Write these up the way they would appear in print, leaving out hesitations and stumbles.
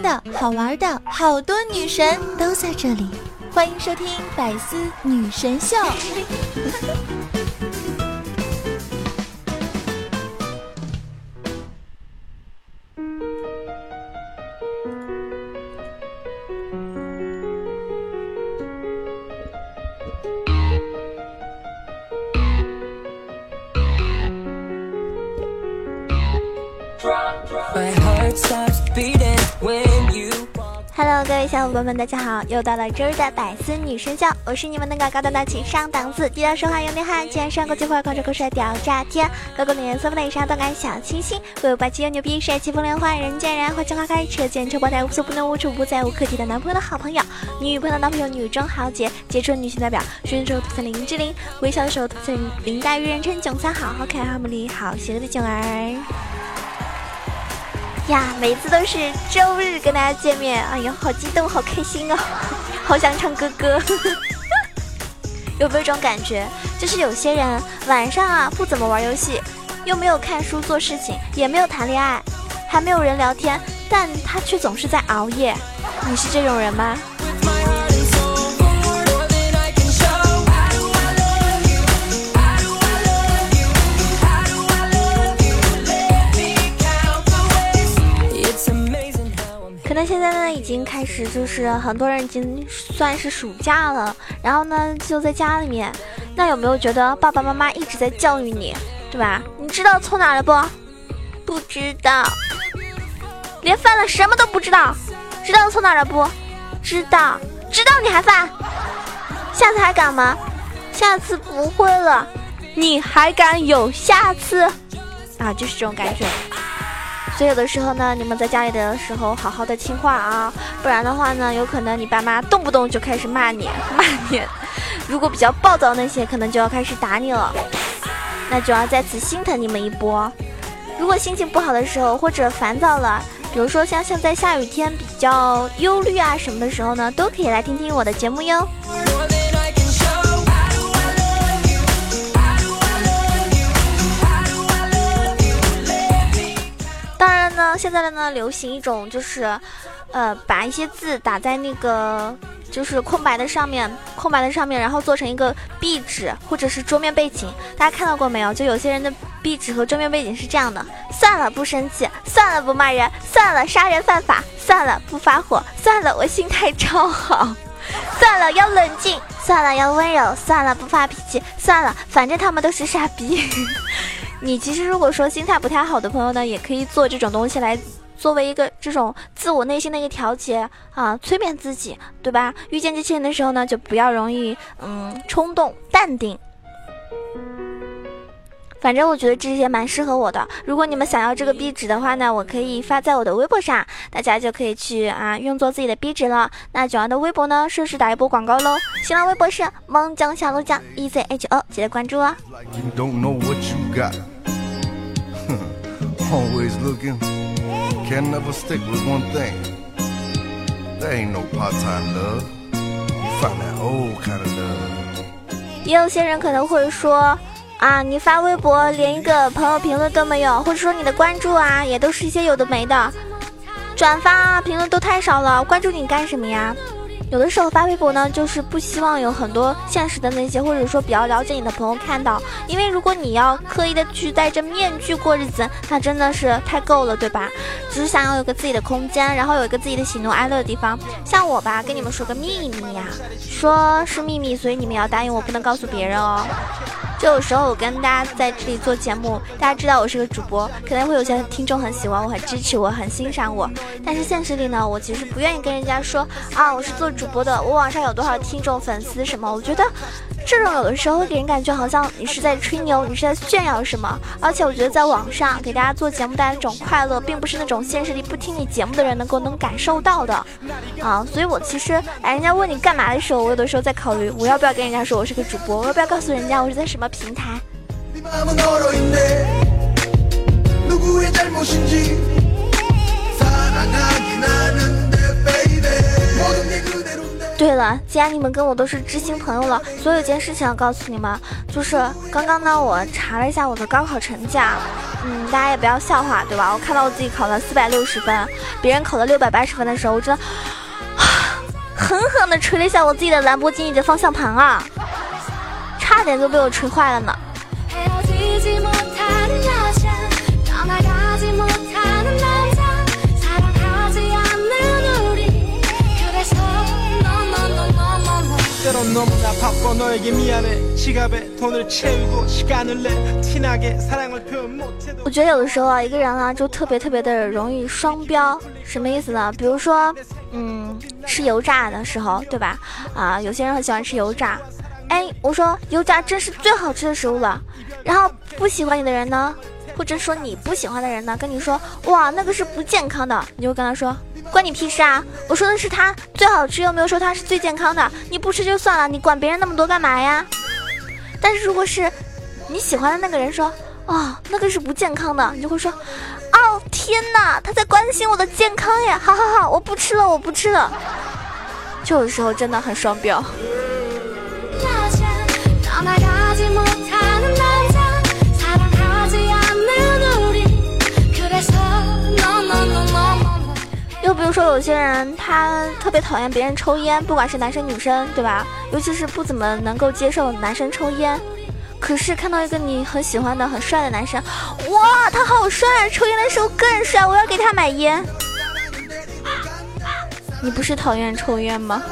的好玩的好多女神都在这里，欢迎收听百思女神秀。Hello， 各位小伙伴们，大家好！又到了周日的百思女神秀，我是你们那个高端大气上档次、低调说话有内涵、既然上过节会控制口水屌炸天、高冷颜色不内伤动感小清新、威武霸气又牛逼、帅气风凉话、人见人爱、花见花开、车见车爆胎、无所不能无处不在、无可替代男朋友的好朋友、女朋友的男朋友、女中豪杰、杰出女性代表、说的时候吐槽林志玲、微笑的时候吐槽林黛玉，人称囧三好、好可爱、好美丽、好邪恶的囧儿。呀，每次都是周日跟大家见面，哎呦，好激动，好开心哦，好想唱歌歌。有没有一种感觉，就是有些人晚上啊不怎么玩游戏，又没有看书做事情，也没有谈恋爱，还没有人聊天，但他却总是在熬夜。你是这种人吗？可能现在呢已经开始，就是很多人已经算是暑假了，然后呢就在家里面，那有没有觉得爸爸妈妈一直在教育你，对吧？你知道凑哪了不？不知道，连犯了什么都不知道。知道凑哪了不？知道，知道你还犯，下次还敢吗？下次不会了，你还敢有下次啊？就是这种感觉。所以有的时候呢，你们在家里的时候好好的听话啊，不然的话呢，有可能你爸妈动不动就开始骂你。如果比较暴躁那些，可能就要开始打你了，那就要在此心疼你们一波。如果心情不好的时候，或者烦躁了，比如说像在下雨天比较忧虑啊什么的时候呢，都可以来听听我的节目哟。当然呢，现在呢流行一种就是，把一些字打在那个就是空白的上面，然后做成一个壁纸或者是桌面背景。大家看到过没有？就有些人的壁纸和桌面背景是这样的：算了，不生气；算了，不骂人；算了，杀人犯法；算了，不发火；算了，我心态超好；算了，要冷静；算了，要温柔；算了，不发脾气；算了，反正他们都是傻逼。你其实如果说心态不太好的朋友呢，也可以做这种东西来作为一个这种自我内心的一个调节啊，催眠自己，对吧？遇见这些人的时候呢，就不要容易冲动，淡定。反正我觉得这些蛮适合我的。如果你们想要这个壁纸的话呢，我可以发在我的微博上，大家就可以去用作自己的壁纸了。那九阳的微博呢，顺势打一波广告喽。新浪微博是萌酱小鹿酱 EZHO， 记得关注哦。 Always looking, can never stick with one thing. There ain't no part-time love. You find that old kind of love. 也有些人可能会说你发微博连一个朋友评论都没有，或者说你的关注也都是一些有的没的，转发评论都太少了，关注你干什么呀？有的时候发微博呢，就是不希望有很多现实的那些，或者说比较了解你的朋友看到，因为如果你要刻意的去戴着面具过日子，那真的是太够了，对吧？只是想要有个自己的空间，然后有一个自己的喜怒哀乐的地方。像我吧，跟你们说个秘密呀，说是秘密，所以你们要答应我，不能告诉别人哦。就有时候我跟大家在这里做节目，大家知道我是个主播，可能会有些听众很喜欢我，很支持我，很欣赏我，但是现实里呢，我其实不愿意跟人家说我是做主播的，我网上有多少听众粉丝什么。我觉得这种有的时候会给人感觉好像你是在吹牛，你是在炫耀什么。而且我觉得在网上给大家做节目带来一种快乐，并不是那种现实里不听你节目的人能感受到的所以我其实人家问你干嘛的时候，我有的时候在考虑我要不要跟人家说我是个主播，我要不要告诉人家我是在什么平台。对了， 了，既然你们跟我都是知心朋友了，所以有件事情要告诉你们，就是刚刚呢我查了一下我的高考成绩，大家也不要笑话，对吧？我看到我自己考了460分，别人考了680分的时候，我真的狠狠地捶了一下我自己的兰博基尼的方向盘啊，差点就被我捶坏了呢。我觉得有的时候啊，一个人啊就特别的容易双标，什么意思呢？比如说吃油炸的时候，对吧？有些人很喜欢吃油炸，我说油炸真是最好吃的食物了，然后不喜欢你的人呢，或者说你不喜欢的人呢，跟你说哇那个是不健康的，你就跟他说关你屁事啊！我说的是它最好吃，又没有说它是最健康的。你不吃就算了，你管别人那么多干嘛呀？但是如果是你喜欢的那个人说那个是不健康的，你就会说天哪，他在关心我的健康呀！好，我不吃了。就有时候真的很双标。又比如说有些人他特别讨厌别人抽烟，不管是男生女生，对吧？尤其是不怎么能够接受男生抽烟，可是看到一个你很喜欢的很帅的男生，哇他好帅，抽烟的时候更帅，我要给他买烟。你不是讨厌抽烟吗？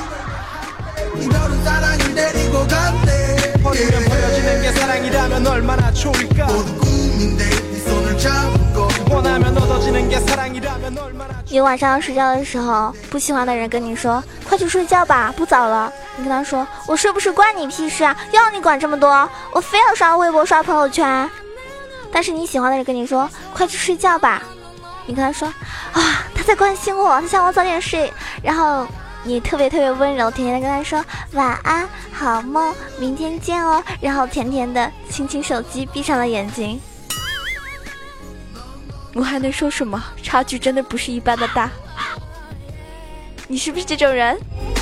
你晚上睡觉的时候，不喜欢的人跟你说快去睡觉吧，不早了，你跟他说我睡不睡关你屁事啊，要你管这么多，我非要刷微博刷朋友圈。但是你喜欢的人跟你说快去睡觉吧，你跟他说他在关心我，他想我早点睡，然后你特别温柔甜甜的跟他说晚安好梦，明天见哦，然后甜甜的亲亲手机，闭上了眼睛。我还能说什么？差距真的不是一般的大。你是不是这种人？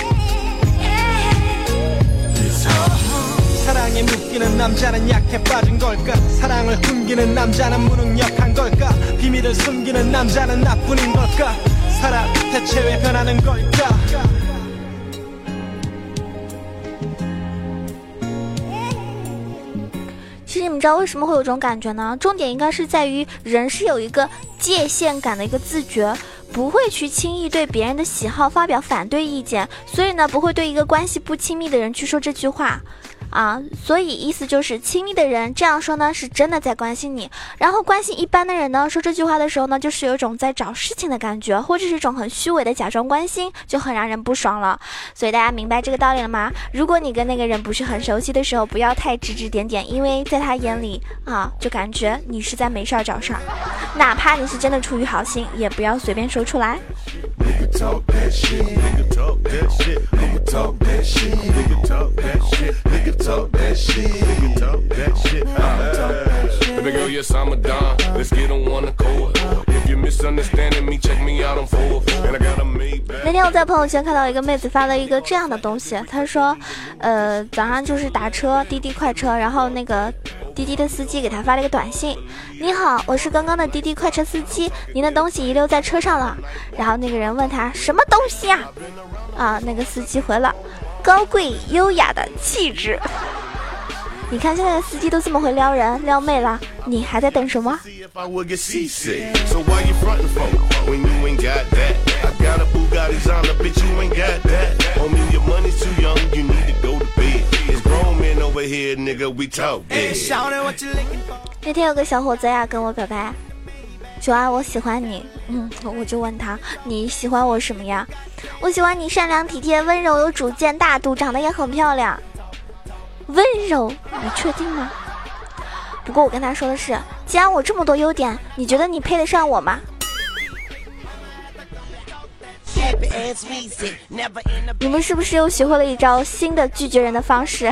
其实你们知道为什么会有这种感觉呢？重点应该是在于人是有一个界限感的一个自觉，不会去轻易对别人的喜好发表反对意见，所以呢不会对一个关系不亲密的人去说这句话所以意思就是亲密的人这样说呢是真的在关心你，然后关系一般的人呢说这句话的时候呢就是有一种在找事情的感觉，或者是一种很虚伪的假装关心，就很让人不爽了。所以大家明白这个道理了吗？如果你跟那个人不是很熟悉的时候，不要太指指点点，因为在他眼里就感觉你是在没事儿找事儿，哪怕你是真的出于好心，也不要随便说出来。那天我在朋友圈看到一个妹子发了一个这样的东西，她说早上就是打车滴滴快车，然后那个滴滴的司机给她发了一个短信，你好，我是刚刚的滴滴快车司机，您的东西遗留在车上了。然后那个人问他什么东西那个司机回了高贵优雅的气质。你看现在的司机都这么会撩人撩妹了，你还在等什么？那天有个小伙子呀跟我表白，九儿我喜欢你。我就问他你喜欢我什么呀？我喜欢你善良体贴温柔有主见大度，长得也很漂亮。温柔，你确定吗？不过我跟他说的是，既然我这么多优点，你觉得你配得上我吗？你们是不是又学会了一招新的拒绝人的方式？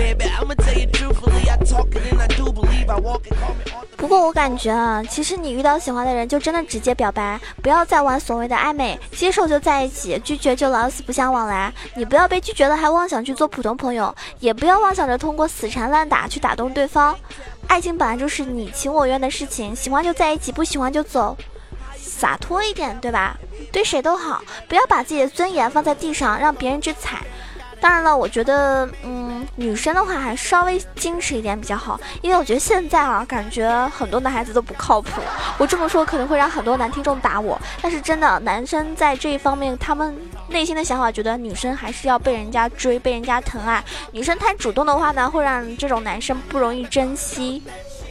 不过我感觉啊，其实你遇到喜欢的人就真的直接表白，不要再玩所谓的暧昧，接受就在一起，拒绝就老死不相往来。你不要被拒绝了还妄想去做普通朋友，也不要妄想着通过死缠烂打去打动对方。爱情本来就是你情我愿的事情，喜欢就在一起，不喜欢就走，洒脱一点，对吧？对谁都好，不要把自己的尊严放在地上让别人去踩。当然了，我觉得女生的话还稍微矜持一点比较好，因为我觉得现在啊，感觉很多男孩子都不靠谱。我这么说可能会让很多男听众打我，但是真的，男生在这一方面他们内心的想法觉得女生还是要被人家追，被人家疼爱，女生太主动的话呢，会让这种男生不容易珍惜。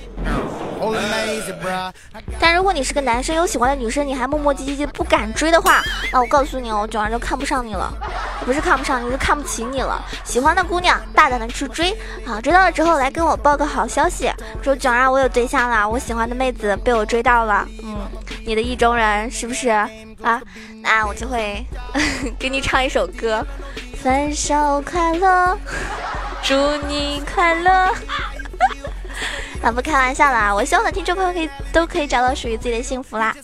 但如果你是个男生，有喜欢的女生，你还磨磨唧唧不敢追的话，那我告诉你哦，九儿就看不上你了，不是看不上你，是看不起你了。喜欢的姑娘大胆的去追啊，追到了之后来跟我报个好消息，说九儿我有对象了，我喜欢的妹子被我追到了，你的意中人是不是啊？那我就会给你唱一首歌，分手快乐，祝你快乐。那不开玩笑啦，我希望的听众朋友都可以找到属于自己的幸福啦。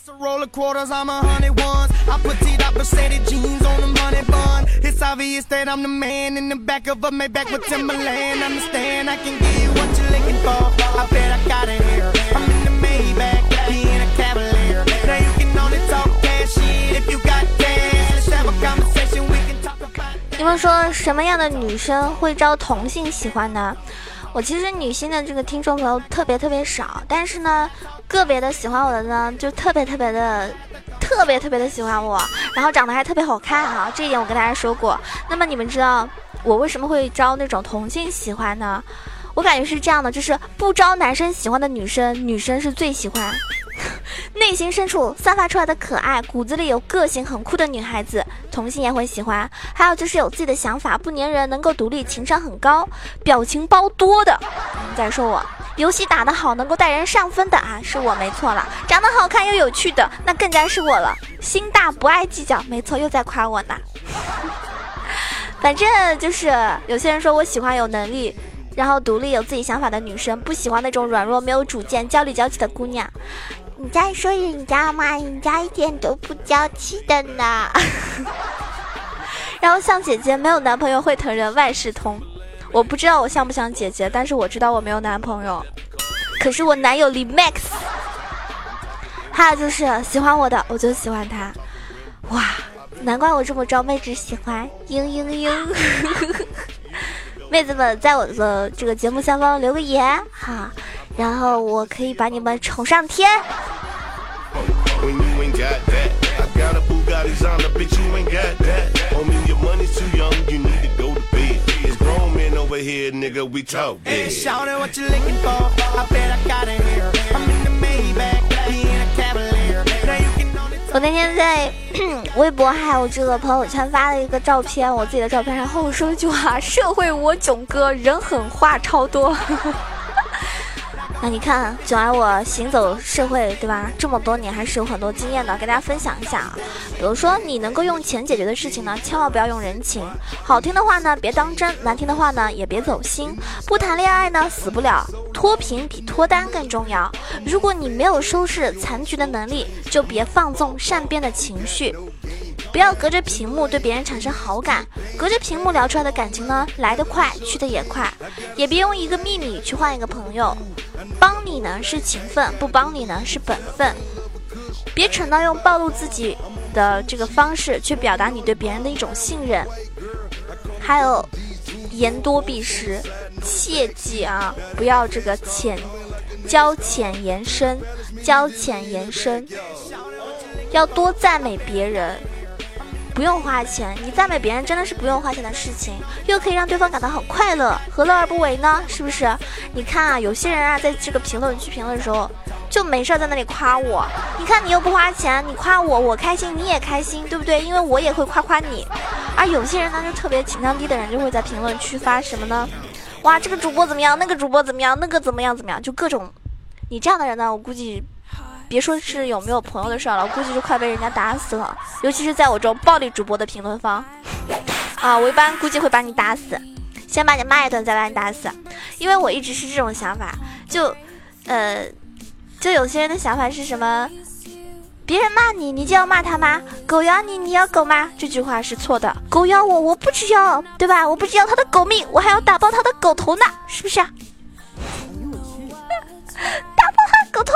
你们说什么样的女生会招同性喜欢呢？我其实女性的这个听众朋友特别少，但是呢，个别的喜欢我的呢，就特别的喜欢我，然后长得还特别好看啊，这一点我跟大家说过。那么你们知道我为什么会招那种同性喜欢呢？我感觉是这样的，就是不招男生喜欢的女生，女生是最喜欢。内心深处散发出来的可爱，骨子里有个性很酷的女孩子，同性也会喜欢。还有就是有自己的想法，不粘人，能够独立，情商很高，表情包多的。再说我游戏打得好，能够带人上分的啊，是我没错了。长得好看又有趣的，那更加是我了。心大不爱计较，没错，又在夸我呢。反正就是有些人说我喜欢有能力然后独立有自己想法的女生，不喜欢那种软弱没有主见娇里娇气的姑娘。你在说人家吗？人家一点都不娇气的呢。然后像姐姐没有男朋友会疼人，万事通。我不知道我像不像姐姐，但是我知道我没有男朋友，可是我男友李 Max。还有就是喜欢我的我就喜欢他，哇，难怪我这么招妹子喜欢，妹子们在我的这个节目下方留个言哈，然后我可以把你们宠上天。我那天在微博还有这个朋友圈发了一个照片，我自己的照片，然后我说一句话：社会我囧哥，人狠话超多。那你看囧儿我行走社会对吧，这么多年还是有很多经验的，给大家分享一下啊。比如说你能够用钱解决的事情呢，千万不要用人情，好听的话呢别当真，难听的话呢也别走心。不谈恋爱呢死不了，脱贫比脱单更重要。如果你没有收拾残局的能力，就别放纵善变的情绪。不要隔着屏幕对别人产生好感，隔着屏幕聊出来的感情呢，来得快去得也快。也别用一个秘密去换一个朋友，帮你呢是情分，不帮你呢是本分。别蠢到用暴露自己的这个方式去表达你对别人的一种信任。还有言多必失，切记啊，不要这个交浅言深，交浅言深。要多赞美别人，不用花钱，你赞美别人真的是不用花钱的事情，又可以让对方感到很快乐，何乐而不为呢？是不是？你看啊，有些人啊，在这个评论区评论的时候，就没事在那里夸我。你看你又不花钱，你夸我，我开心，你也开心，对不对？因为我也会夸你。而有些人呢，就特别情商低的人，就会在评论区发什么呢？哇，这个主播怎么样？那个主播怎么样？那个怎么样？就各种。你这样的人呢，我估计。别说是有没有朋友的事了，我估计就快被人家打死了，尤其是在我这种暴力主播的评论方啊，我一般估计会把你打死。 先把你骂一顿，再把你打死。因为我一直是这种想法，就有些人的想法是什么？别人骂你，你就要骂他吗？狗咬你，你要狗吗？这句话是错的。狗咬我，我不只要，对吧？我不只要他的狗命，我还要打爆他的狗头呢，是不是啊？打爆他的狗头。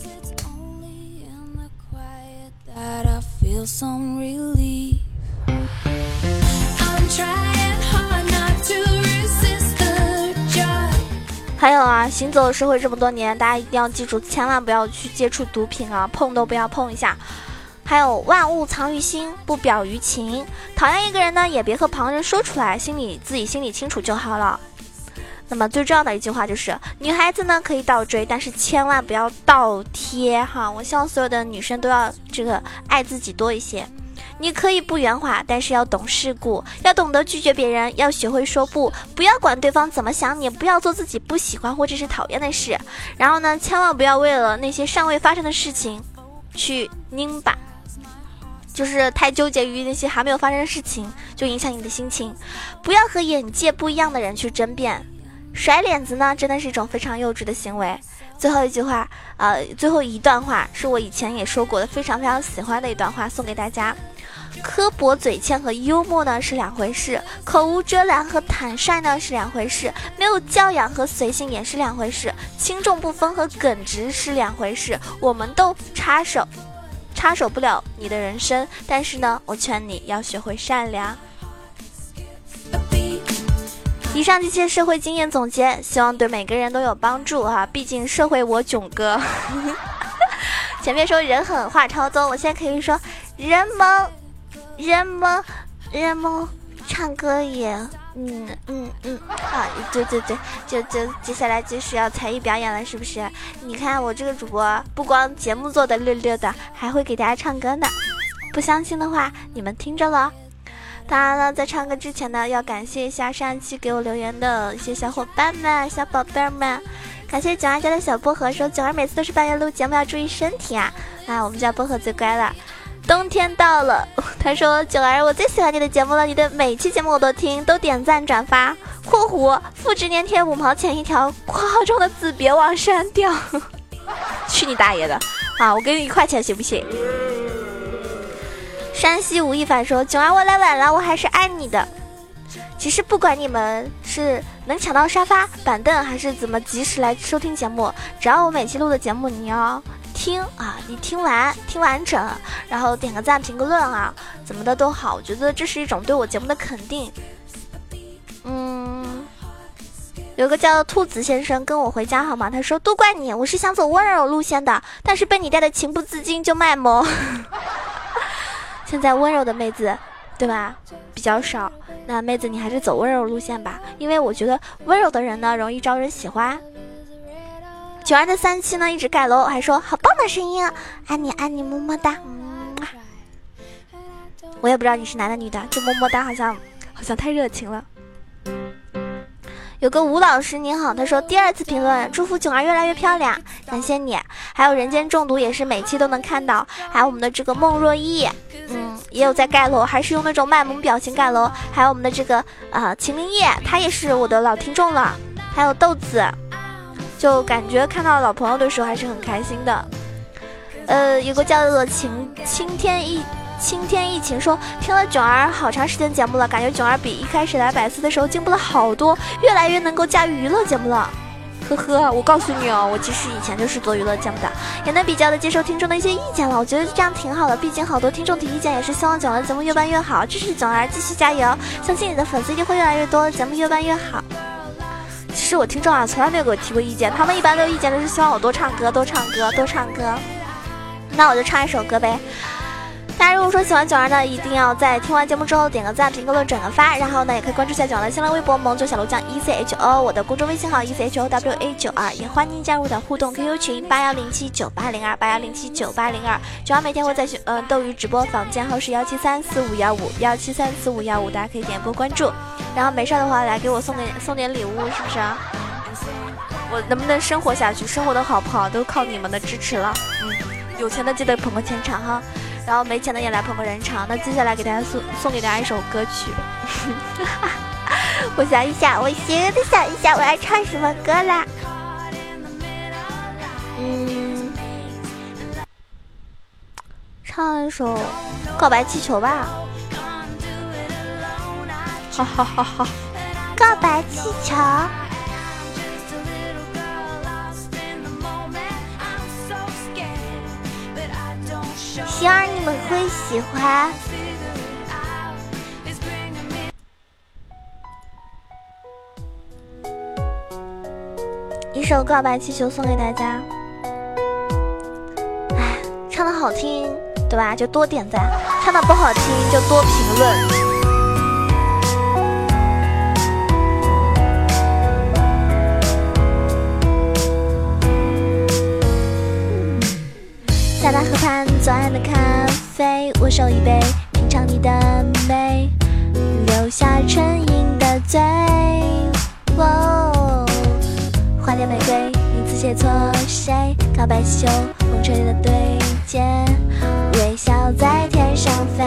还有啊，行走社会这么多年，大家一定要记住，千万不要去接触毒品啊，碰都不要碰一下。还有万物藏于心，不表于情。讨厌一个人呢，也别和旁人说出来，自己心里清楚就好了。那么最重要的一句话就是，女孩子呢可以倒追，但是千万不要倒贴哈。我希望所有的女生都要爱自己多一些。你可以不圆滑，但是要懂世故，要懂得拒绝别人，要学会说不，不要管对方怎么想你，不要做自己不喜欢或者是讨厌的事。然后呢，千万不要为了那些尚未发生的事情去拧巴，就是太纠结于那些还没有发生的事情，就影响你的心情。不要和眼界不一样的人去争辩，甩脸子呢真的是一种非常幼稚的行为。最后一段话是我以前也说过的，非常非常喜欢的一段话，送给大家。刻薄嘴欠和幽默呢是两回事，口无遮拦和坦率呢是两回事，没有教养和随性也是两回事，轻重不分和耿直是两回事。我们都插手不了你的人生，但是呢，我劝你要学会善良。以上这些社会经验总结，希望对每个人都有帮助哈。毕竟社会我囧哥，前面说人狠话超多，我现在可以说人萌，唱歌也对，就接下来就是要才艺表演了，是不是？你看我这个主播不光节目做的溜溜的，还会给大家唱歌呢。不相信的话，你们听着了。当然了，在唱歌之前呢，要感谢一下上一期给我留言的一些小伙伴们、小宝贝们。感谢囧儿家的小薄荷说，囧儿每次都是半夜录节目，要注意身体啊！我们家薄荷最乖了。冬天到了，他说，囧儿，我最喜欢你的节目了，你的每期节目我都听，都点赞转发（括弧复制粘贴5毛钱一条）（括号中的字别忘删掉）。去你大爷的啊！我给你1块钱行不行？山西吴亦凡说，囧儿，我来晚了，我还是爱你的。其实不管你们是能抢到沙发板凳，还是怎么及时来收听节目，只要我每期录的节目你要听啊，你听完整，然后点个赞评个论啊，怎么的都好，我觉得这是一种对我节目的肯定。有个叫兔子先生跟我回家好吗？他说，都怪你，我是想走温柔路线的，但是被你带的情不自禁就卖萌。现在温柔的妹子对吧比较少，那妹子你还是走温柔路线吧，因为我觉得温柔的人呢容易招人喜欢。囧儿的3期呢一直盖楼，还说好棒的声音啊，爱你么么哒。我也不知道你是男的女的，就么么哒好像太热情了。有个吴老师您好，他说第2次评论，祝福囧儿越来越漂亮，感谢你。还有人间中毒也是每期都能看到，还有我们的这个孟若依，也有在盖楼，还是用那种卖萌表情盖楼。还有我们的这个秦林叶，他也是我的老听众了。还有豆子，就感觉看到老朋友的时候还是很开心的。有个叫做青天一情说，听了囧儿好长时间节目了，感觉囧儿比一开始来百思的时候进步了好多，越来越能够驾驭娱乐节目了。呵呵，我告诉你哦，我其实以前就是做娱乐节目的，也能比较的接受听众的一些意见了，我觉得这样挺好的，毕竟好多听众提意见也是希望囧儿的节目越办越好，支持囧儿继续加油，相信你的粉丝一定会越来越多，节目越办越好。其实我听众啊从来没有给我提过意见，他们一般都有意见的是希望我多唱歌。那我就唱一首歌呗。大家如果说喜欢囧儿呢，一定要在听完节目之后点个赞、评个论、转个发，然后呢也可以关注一下囧儿的新浪微博萌九小楼酱 ECHO， 我的公众微信号 ECHOWA92，也欢迎加入的互动 QQ 群81079802 81079802。囧儿每天会在斗鱼直播，房间号是1734515 1734515，大家可以点播关注，然后没事的话来给我送点礼物，是不是啊？我能不能生活下去，生活的好不好都靠你们的支持了。有钱的记得捧个钱场哈，然后没钱的也来捧个人场。那接下来给大家送给大家一首歌曲， 我想一下，我要唱什么歌啦？唱一首《告白气球》吧。哈哈哈哈！告白气球。希望你们会喜欢。一首告白气球送给大家。哎，唱的好听，对吧？就多点赞；唱的不好听，就多评论。在那河畔左岸的咖啡，我手一杯，品尝你的美，留下唇印的嘴。花店玫瑰，你字写错谁？告白气球，风吹的对接，微笑在天上飞。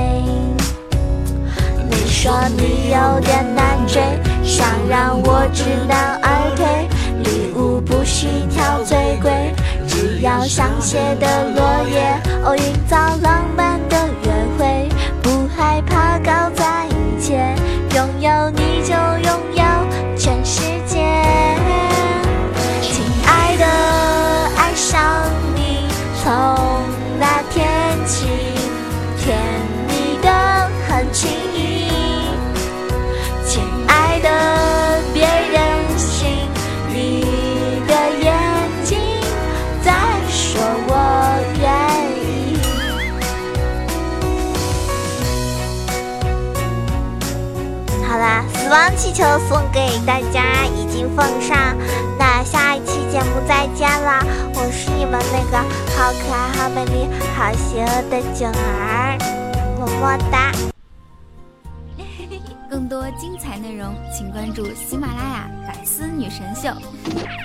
你说你有点难追，想让我知难而退，礼物不需挑最贵，只要香榭的落叶，营造浪漫的约会，不害怕搞在一起，拥有你就拥有全世界。亲爱的，爱上你，从那天起，甜蜜的很轻易。亲爱的，别任性，你的眼睛在说我愿意。好啦，死亡气球送给大家，已经奉上。那下一期节目再见啦！我是你们那个好可爱、好美丽、好邪恶的囧儿，么么哒。 更多精彩内容，请关注喜马拉雅百思女神秀。